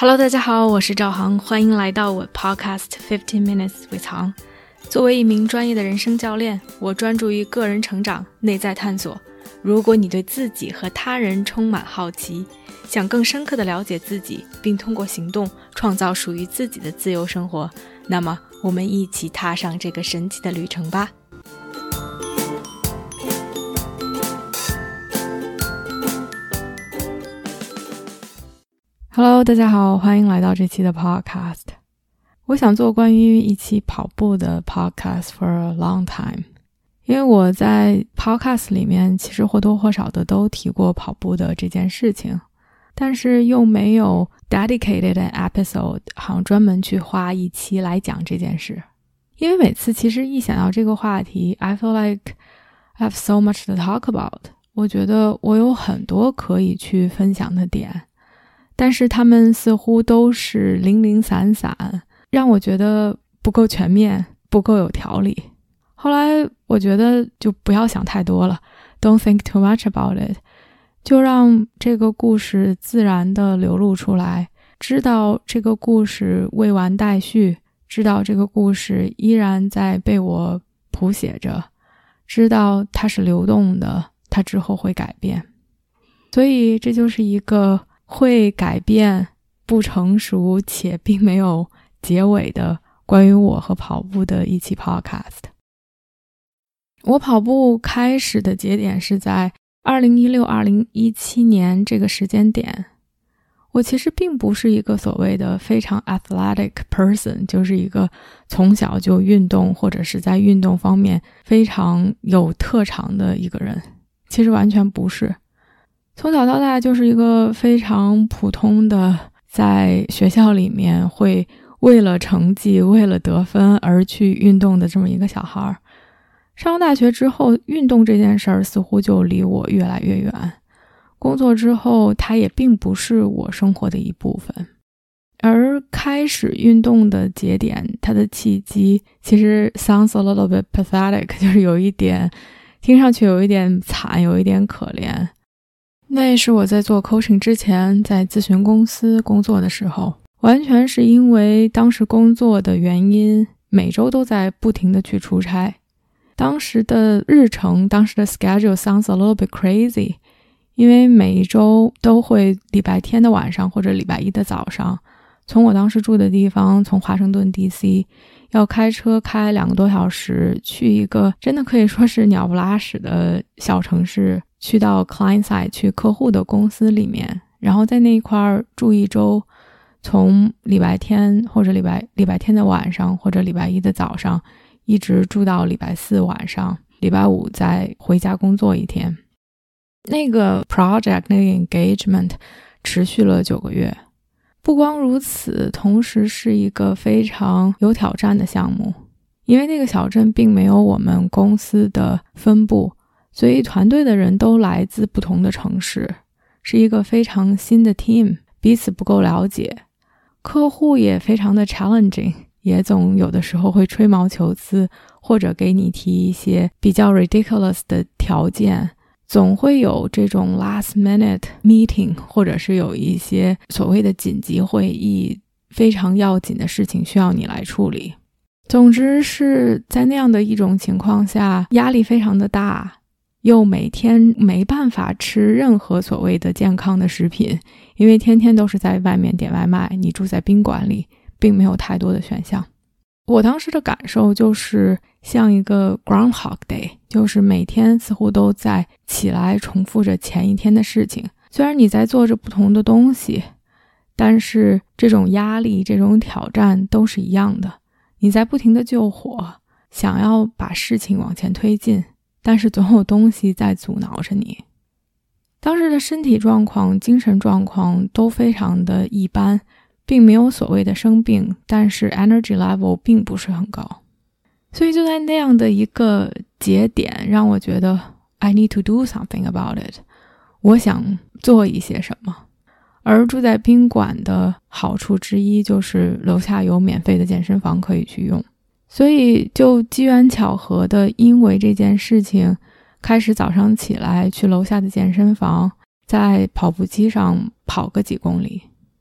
Hello， 大家好，我是赵航，欢迎来到我 Podcast 15 Minutes with 航。作为一名专业的人生教练，我专注于个人成长、内在探索。如果你对自己和他人充满好奇，想更深刻地了解自己，并通过行动创造属于自己的自由生活，那么我们一起踏上这个神奇的旅程吧。Hello， 大家好，欢迎来到这期的 Podcast。我想做关于一期跑步的 Podcast for a long time， 因为我在 Podcast 里面其实或多或少的都提过跑步的这件事情，但是又没有 dedicated an episode， 好像专门去花一期来讲这件事。因为每次其实一想到这个话题 I feel like I have so much to talk about， 我觉得我有很多可以去分享的点，但是他们似乎都是零零散散，让我觉得不够全面，不够有条理。后来我觉得就不要想太多了， Don't think too much about it， 就让这个故事自然地流露出来，知道这个故事未完待续，知道这个故事依然在被我谱写着，知道它是流动的，它之后会改变。所以这就是一个会改变、不成熟且并没有结尾的关于我和跑步的一期 podcast。 我跑步开始的节点是在2016-2017年这个时间点。我其实并不是一个所谓的非常 athletic person， 就是一个从小就运动或者是在运动方面非常有特长的一个人，其实完全不是。从小到大就是一个非常普通的，在学校里面会为了成绩、为了得分而去运动的这么一个小孩。上了大学之后，运动这件事儿似乎就离我越来越远。工作之后，它也并不是我生活的一部分。而开始运动的节点，它的契机其实 sounds a little bit pathetic， 就是有一点听上去有一点惨，有一点可怜。那是我在做 coaching 之前，在咨询公司工作的时候，完全是因为当时工作的原因，每周都在不停的去出差。当时的日程，当时的 schedule sounds a little bit crazy， 因为每一周都会礼拜天的晚上或者礼拜一的早上，从我当时住的地方，从华盛顿 DC 要开车开2个多小时去一个真的可以说是鸟不拉屎的小城市，去到 client side， 去客户的公司里面，然后在那一块住一周，从礼拜天或者礼拜天的晚上或者礼拜一的早上，一直住到礼拜四晚上，礼拜五再回家工作一天。那个 project， 那个 engagement 持续了9个月。不光如此，同时是一个非常有挑战的项目，因为那个小镇并没有我们公司的分部，所以团队的人都来自不同的城市，是一个非常新的 team， 彼此不够了解。客户也非常的 challenging， 也总有的时候会吹毛求疵，或者给你提一些比较 ridiculous 的条件，总会有这种 last minute meeting， 或者是有一些所谓的紧急会议，非常要紧的事情需要你来处理。总之是在那样的一种情况下，压力非常的大，又每天没办法吃任何所谓的健康的食品，因为天天都是在外面点外卖，你住在宾馆里，并没有太多的选项。我当时的感受就是像一个 Groundhog Day， 就是每天似乎都在起来重复着前一天的事情。虽然你在做着不同的东西，但是这种压力、这种挑战都是一样的。你在不停的救火，想要把事情往前推进，但是总有东西在阻挠着你。当时的身体状况、精神状况都非常的一般，并没有所谓的生病，但是 energy level 并不是很高。所以就在那样的一个节点，让我觉得 I need to do something about it， 我想做一些什么。而住在宾馆的好处之一就是楼下有免费的健身房可以去用，所以就机缘巧合的因为这件事情，开始早上起来去楼下的健身房，在跑步机上跑个几公里。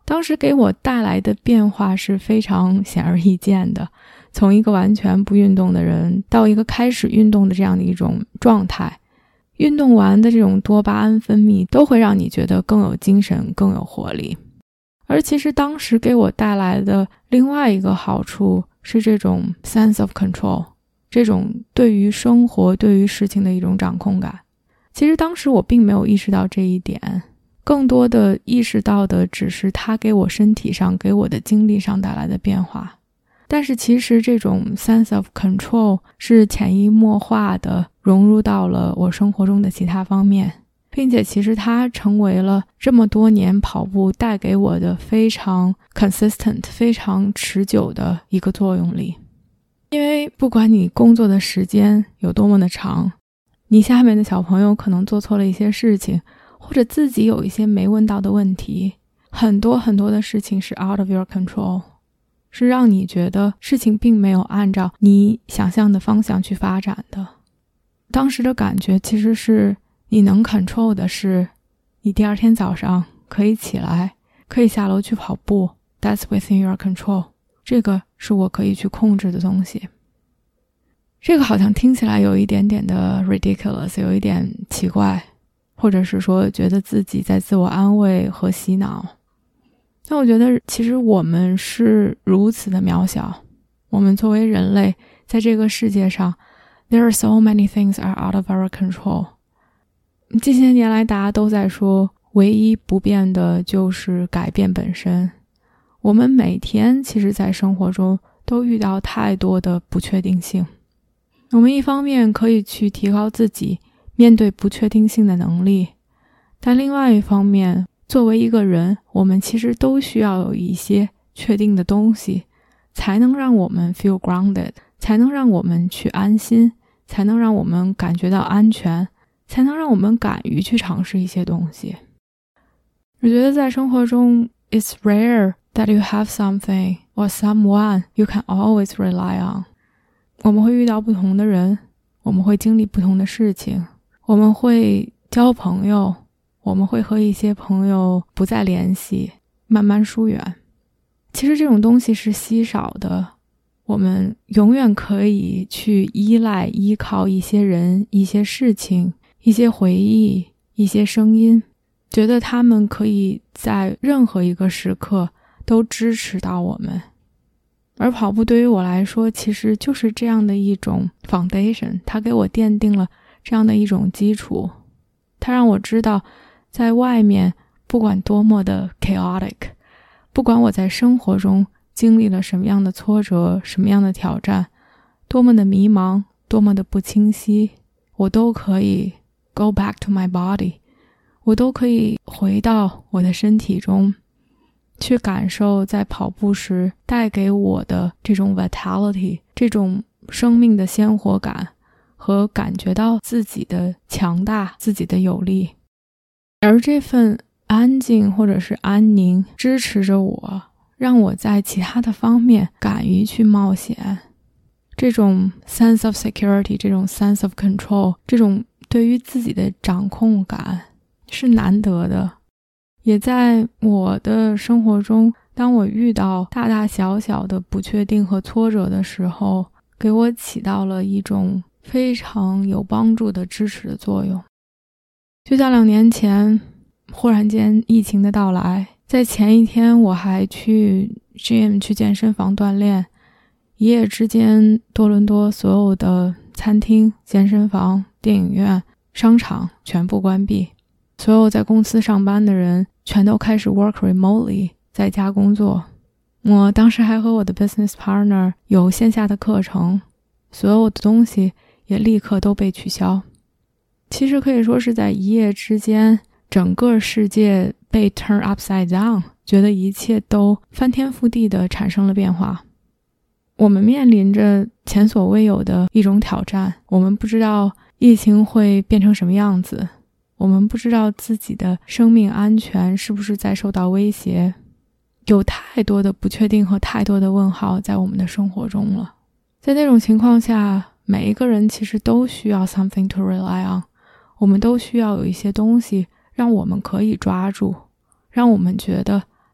当时给我带来的变化是非常显而易见的，从一个完全不运动的人到一个开始运动的这样的一种状态，运动完的这种多巴胺分泌都会让你觉得更有精神，更有活力。而其实当时给我带来的另外一个好处是这种 sense of control， 这种对于生活对于事情的一种掌控感。其实当时我并没有意识到这一点，更多的意识到的只是它给我身体上给我的精力上带来的变化。但是其实这种 sense of control 是潜移默化的融入到了我生活中的其他方面，并且其实它成为了这么多年跑步带给我的非常 consistent 非常持久的一个作用力。因为不管你工作的时间有多么的长，你下面的小朋友可能做错了一些事情，或者自己有一些没问到的问题，很多很多的事情是 out of your control， 是让你觉得事情并没有按照你想象的方向去发展的。当时的感觉其实是你能 control 的是你第二天早上可以起来，可以下楼去跑步， that's within your control， 这个是我可以去控制的东西。这个好像听起来有一点点的 ridiculous， 有一点奇怪，或者是说觉得自己在自我安慰和洗脑。但我觉得其实我们是如此的渺小，我们作为人类在这个世界上 there are so many things are out of our control。 这些年来大家都在说唯一不变的就是改变本身。我们每天其实在生活中都遇到太多的不确定性，我们一方面可以去提高自己面对不确定性的能力，但另外一方面作为一个人，我们其实都需要有一些确定的东西，才能让我们 feel grounded， 才能让我们去安心，才能让我们感觉到安全，才能让我们敢于去尝试一些东西。我觉得在生活中 it's rare that you have something or someone you can always rely on。 我们会遇到不同的人，我们会经历不同的事情，我们会交朋友，我们会和一些朋友不再联系，慢慢疏远。其实这种东西是稀少的，我们永远可以去依靠一些人，一些事情，一些回忆，一些声音，觉得他们可以在任何一个时刻都支持到我们。而跑步对于我来说其实就是这样的一种 foundation， 它给我奠定了这样的一种基础，它让我知道在外面不管多么的 chaotic， 不管我在生活中经历了什么样的挫折，什么样的挑战，多么的迷茫，多么的不清晰，我都可以 go back to my body， 我都可以回到我的身体中，去感受在跑步时带给我的这种 vitality， 这种生命的鲜活感，和感觉到自己的强大，自己的有力。而这份安静或者是安宁支持着我，让我在其他的方面敢于去冒险。这种 sense of security， 这种 sense of control， 这种对于自己的掌控感是难得的。也在我的生活中，当我遇到大大小小的不确定和挫折的时候，给我起到了一种非常有帮助的支持的作用。就像2年前忽然间疫情的到来，在前一天我还去 gym 去健身房锻炼，一夜之间多伦多所有的餐厅、健身房、电影院、商场全部关闭，所有在公司上班的人全都开始 work remotely， 在家工作。我当时还和我的 business partner 有线下的课程，所有的东西也立刻都被取消。其实可以说是在一夜之间，整个世界被 turn upside down， 觉得一切都翻天覆地的产生了变化。我们面临着前所未有的一种挑战，我们不知道疫情会变成什么样子，我们不知道自己的生命安全是不是在受到威胁，有太多的不确定和太多的问号在我们的生活中了。在那种情况下，每一个人其实都需要 something to rely on， 我们都需要有一些东西让我们可以抓住，让我们觉得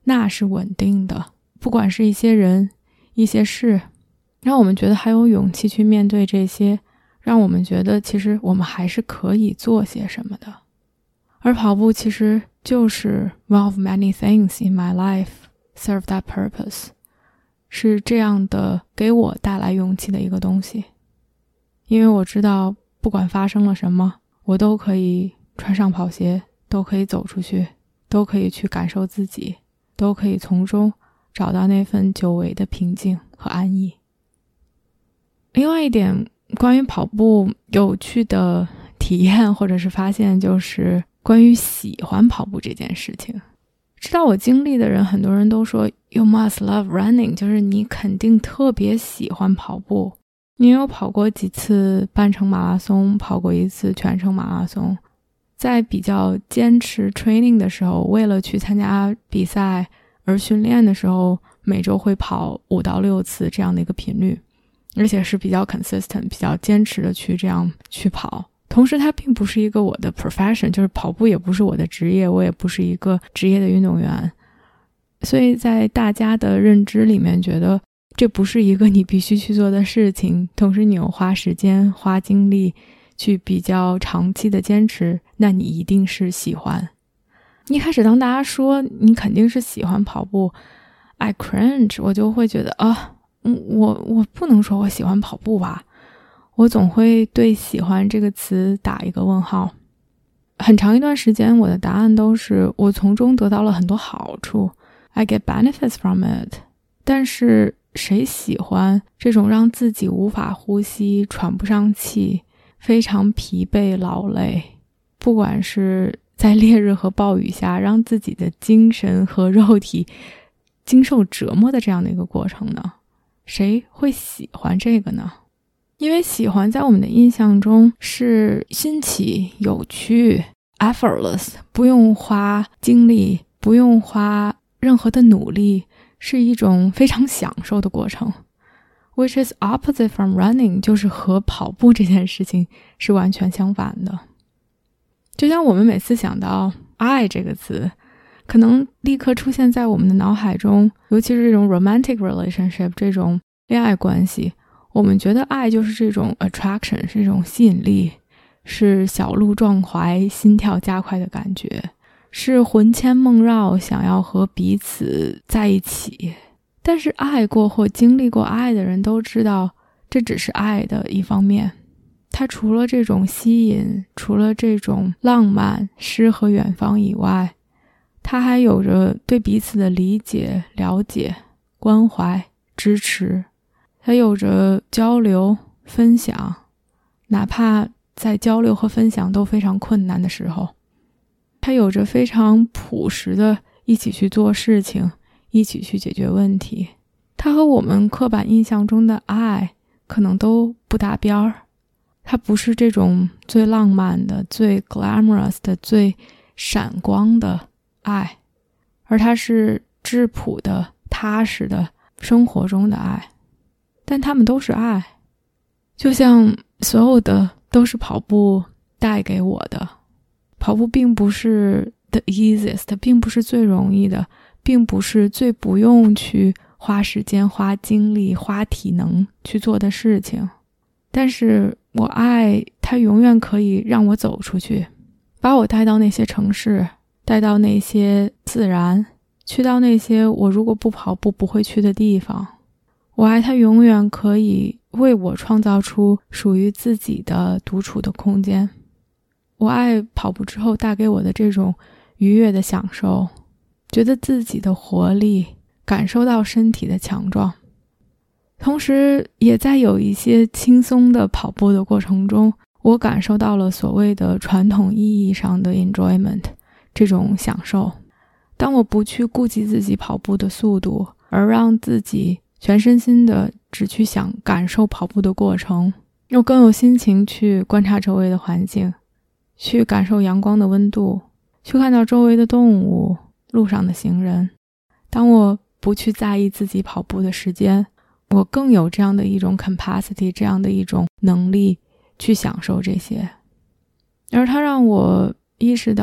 那是稳定的，不管是一些人一些事，让我们觉得还有勇气去面对这些，让我们觉得其实我们还是可以做些什么的。而跑步其实就是 one of many things in my life serve that purpose， 是这样的给我带来勇气的一个东西。因为我知道不管发生了什么，我都可以穿上跑鞋，都可以走出去，都可以去感受自己，都可以从中找到那份久违的平静和安逸。另外一点关于跑步有趣的体验或者是发现，就是关于喜欢跑步这件事情。知道我经历的人，很多人都说 You must love running， 就是你肯定特别喜欢跑步。你有跑过几次半程马拉松，跑过一次全程马拉松，在比较坚持 training 的时候，为了去参加比赛而训练的时候，每周会跑5到6次这样的一个频率，而且是比较 consistent 比较坚持的去这样去跑。同时它并不是一个我的 profession， 就是跑步也不是我的职业，我也不是一个职业的运动员，所以在大家的认知里面觉得这不是一个你必须去做的事情，同时你又花时间花精力去比较长期的坚持，那你一定是喜欢。一开始当大家说你肯定是喜欢跑步 I cringe， 我就会觉得我不能说我喜欢跑步吧，我总会对喜欢这个词打一个问号。很长一段时间我的答案都是我从中得到了很多好处， I get benefits from it， 但是谁喜欢这种让自己无法呼吸喘不上气非常疲惫劳累，不管是在烈日和暴雨下让自己的精神和肉体经受折磨的这样的一个过程呢？谁会喜欢这个呢？因为喜欢在我们的印象中是新奇有趣 effortless， 不用花精力不用花任何的努力，是一种非常享受的过程， which is opposite from running， 就是和跑步这件事情是完全相反的。就像我们每次想到爱这个词，可能立刻出现在我们的脑海中，尤其是这种 romantic relationship 这种恋爱关系，我们觉得爱就是这种 attraction， 是这种吸引力，是小鹿撞怀心跳加快的感觉，是魂牵梦绕想要和彼此在一起。但是爱过或经历过爱的人都知道，这只是爱的一方面，它除了这种吸引，除了这种浪漫诗和远方以外，它还有着对彼此的理解了解关怀支持，它有着交流分享，哪怕在交流和分享都非常困难的时候，它有着非常朴实的一起去做事情，一起去解决问题。它和我们刻板印象中的爱可能都不搭边儿，它不是这种最浪漫的最 glamorous 的最闪光的爱，而它是质朴的踏实的生活中的爱。但它们都是爱，就像所有的都是跑步带给我的。跑步并不是 the easiest， 并不是最容易的，并不是最不用去花时间花精力花体能去做的事情，但是我爱它永远可以让我走出去，把我带到那些城市，带到那些自然，去到那些我如果不跑步不会去的地方。我爱它永远可以为我创造出属于自己的独处的空间。我爱跑步之后带给我的这种愉悦的享受，觉得自己的活力，感受到身体的强壮。同时也在有一些轻松的跑步的过程中，我感受到了所谓的传统意义上的 enjoyment， 这种享受。当我不去顾及自己跑步的速度，而让自己全身心的只去想感受跑步的过程，又更有心情去观察周围的环境，去感受阳光的温度，去看到周围的动物，路上的行人。当我不去在意自己跑步的时间，我更有这样的一种 capacity， 这样的一种能力去享受这些。而它让我意识到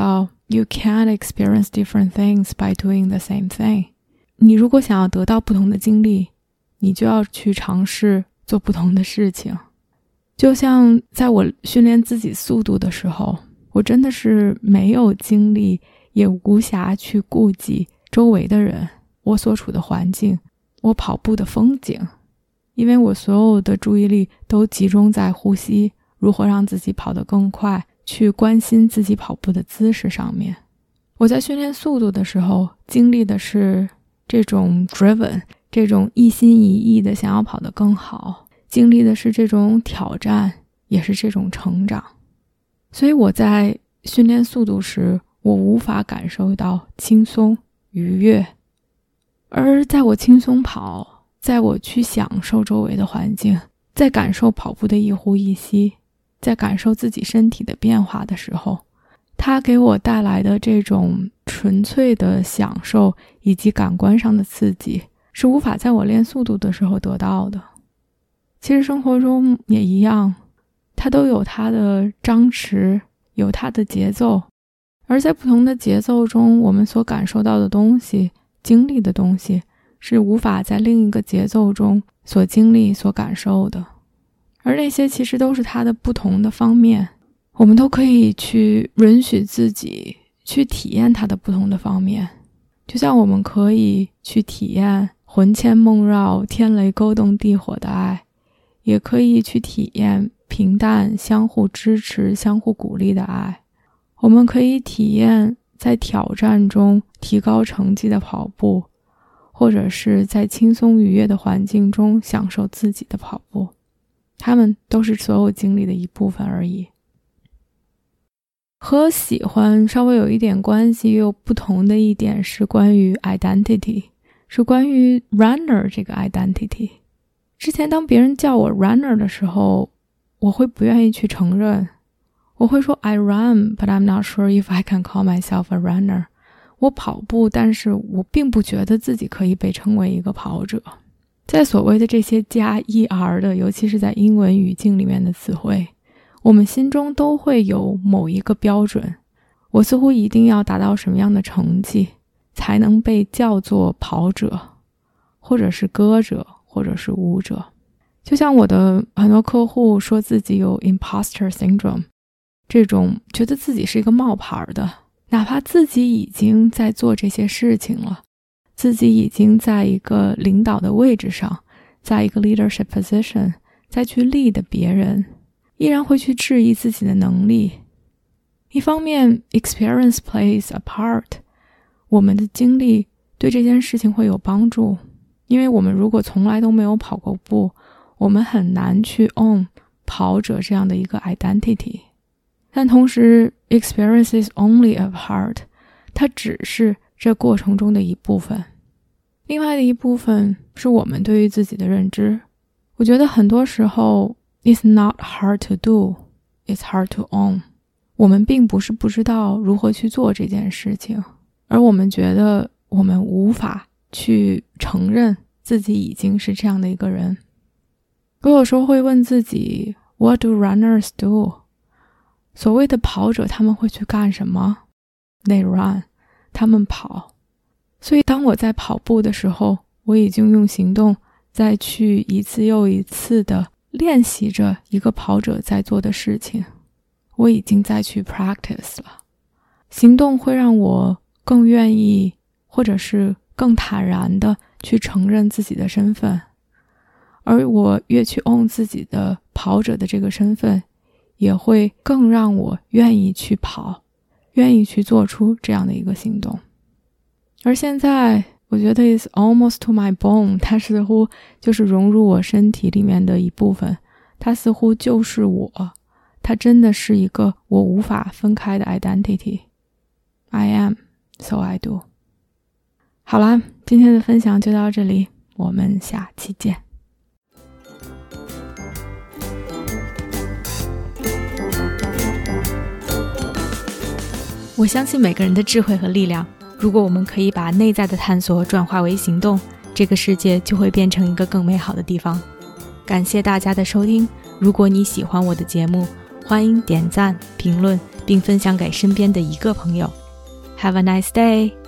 You can't experience different things by doing the same thing. 你如果想要得到不同的经历，你就要去尝试做不同的事情。就像在我训练自己速度的时候，我真的是没有精力，也无暇去顾及周围的人，我所处的环境，我跑步的风景，因为我所有的注意力都集中在呼吸，如何让自己跑得更快，去关心自己跑步的姿势上面。我在训练速度的时候，经历的是这种 driven， 这种一心一意的想要跑得更好，经历的是这种挑战，也是这种成长。所以我在训练速度时，我无法感受到轻松愉悦，而在我轻松跑，在我去享受周围的环境，在感受跑步的一呼一吸，在感受自己身体的变化的时候，它给我带来的这种纯粹的享受以及感官上的刺激，是无法在我练速度的时候得到的。其实生活中也一样，它都有它的张弛，有它的节奏，而在不同的节奏中，我们所感受到的东西，经历的东西，是无法在另一个节奏中所经历所感受的。而那些其实都是它的不同的方面，我们都可以去允许自己去体验它的不同的方面。就像我们可以去体验魂牵梦绕天雷勾动地火的爱，也可以去体验平淡相互支持相互鼓励的爱。我们可以体验在挑战中提高成绩的跑步，或者是在轻松愉悦的环境中享受自己的跑步，它们都是所有经历的一部分而已。和喜欢稍微有一点关系又不同的一点是关于 identity， 是关于 runner 这个 identity。 之前当别人叫我 runner 的时候，我会不愿意去承认，我会说 I run, but I'm not sure if I can call myself a runner。 我跑步，但是我并不觉得自己可以被称为一个跑者。在所谓的这些加 ER 的，尤其是在英文语境里面的词汇，我们心中都会有某一个标准，我似乎一定要达到什么样的成绩才能被叫做跑者，或者是歌者，或者是舞者。就像我的很多客户说自己有 imposter syndrome， 这种觉得自己是一个冒牌的，哪怕自己已经在做这些事情了，自己已经在一个领导的位置上，在一个 leadership position， 再去 lead 别人，依然会去质疑自己的能力。一方面 experience plays a part， 我们的经历对这件事情会有帮助，因为我们如果从来都没有跑过步，我们很难去 own 跑者这样的一个 identity。 但同时 experience is only a part， 它只是这过程中的一部分。另外的一部分是我们对于自己的认知。我觉得很多时候It's not hard to do, it's hard to own。 我们并不是不知道如何去做这件事情，而我们觉得我们无法去承认自己已经是这样的一个人。我有时候会问自己 What do runners do？ 所谓的跑者他们会去干什么？ They run， 他们跑。所以当我在跑步的时候，我已经用行动再去一次又一次的练习着一个跑者在做的事情，我已经在去 practice 了。行动会让我更愿意，或者是更坦然的去承认自己的身份，而我越去 own 自己的跑者的这个身份，也会更让我愿意去跑，愿意去做出这样的一个行动。而现在我觉得 it's almost to my bone， 它似乎就是融入我身体里面的一部分，它似乎就是我，它真的是一个我无法分开的 identity。 I am, so I do。 好啦，今天的分享就到这里，我们下期见。 我相信每个人的智慧和力量，如果我们可以把内在的探索转化为行动，这个世界就会变成一个更美好的地方。感谢大家的收听，如果你喜欢我的节目，欢迎点赞、评论并分享给身边的一个朋友。 Have a nice day.